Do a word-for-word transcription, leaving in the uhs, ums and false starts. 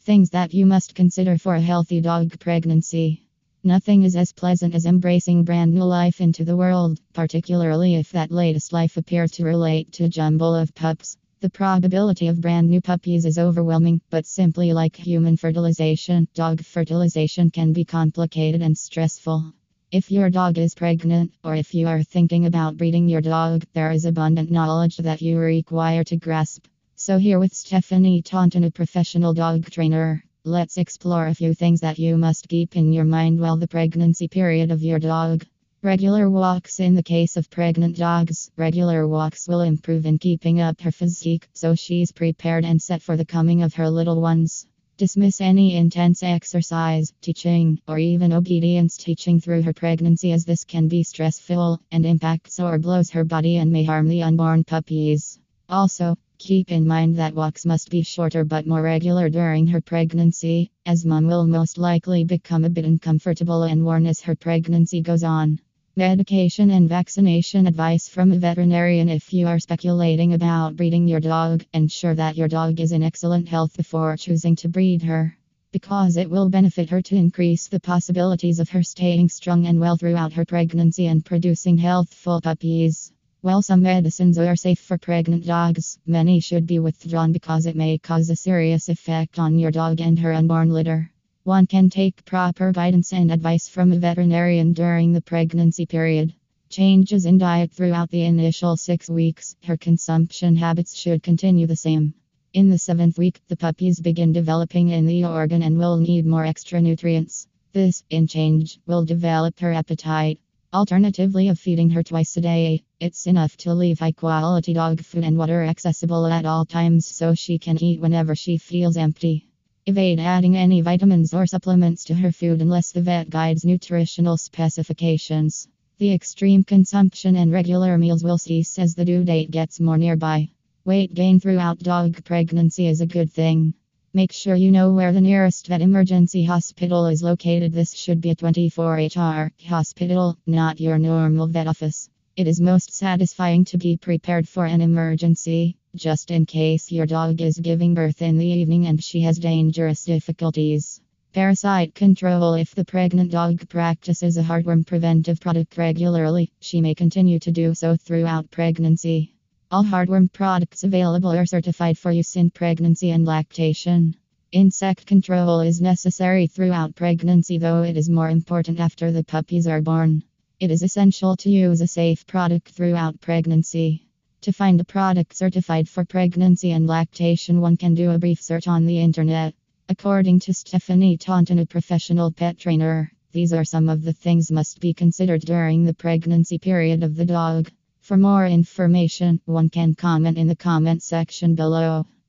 Things that you must consider for a healthy dog pregnancy. Nothing is as pleasant as embracing brand new life into the world, particularly if that latest life appears to relate to a jumble of pups. The probability of brand new puppies is overwhelming, but simply like human fertilization, dog fertilization can be complicated and stressful. If your dog is pregnant, or if you are thinking about breeding your dog, there is abundant knowledge that you require to grasp. So here with Stephanie Taunton, a professional dog trainer, let's explore a few things that you must keep in your mind while the pregnancy period of your dog. Regular walks. In the case of pregnant dogs, regular walks will improve in keeping up her physique, so she's prepared and set for the coming of her little ones. Dismiss any intense exercise, teaching, or even obedience teaching through her pregnancy, as this can be stressful and impacts or blows her body and may harm the unborn puppies. Also, keep in mind that walks must be shorter but more regular during her pregnancy, as mom will most likely become a bit uncomfortable and worn as her pregnancy goes on. Medication and vaccination advice from a veterinarian. If you are speculating about breeding your dog, ensure that your dog is in excellent health before choosing to breed her, because it will benefit her to increase the possibilities of her staying strong and well throughout her pregnancy and producing healthful puppies. While some medicines are safe for pregnant dogs, many should be withdrawn because it may cause a serious effect on your dog and her unborn litter. One can take proper guidance and advice from a veterinarian during the pregnancy period. Changes in diet throughout the initial six weeks. Her consumption habits should continue the same. In the seventh week, the puppies begin developing in the organ and will need more extra nutrients. This, in change, will develop her appetite. Alternatively of feeding her twice a day, it's enough to leave high quality dog food and water accessible at all times so she can eat whenever she feels empty. Evade adding any vitamins or supplements to her food unless the vet guides nutritional specifications. The extreme consumption and regular meals will cease as the due date gets more nearby. Weight gain throughout dog pregnancy is a good thing. Make sure you know where the nearest vet emergency hospital is located. This should be a twenty-four hour hospital, not your normal vet office. It is most satisfying to be prepared for an emergency, just in case your dog is giving birth in the evening and she has dangerous difficulties. Parasite control. If the pregnant dog practices a heartworm preventive product regularly, she may continue to do so throughout pregnancy. All heartworm products available are certified for use in pregnancy and lactation. Insect control is necessary throughout pregnancy, though it is more important after the puppies are born. It is essential to use a safe product throughout pregnancy. To find a product certified for pregnancy and lactation, one can do a brief search on the internet. According to Stephanie Taunton, a professional pet trainer, these are some of the things must be considered during the pregnancy period of the dog. For more information, one can comment in the comment section below.